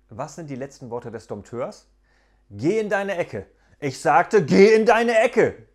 Was sind die letzten Worte des Dompteurs? Geh in deine Ecke. Ich sagte, geh in deine Ecke.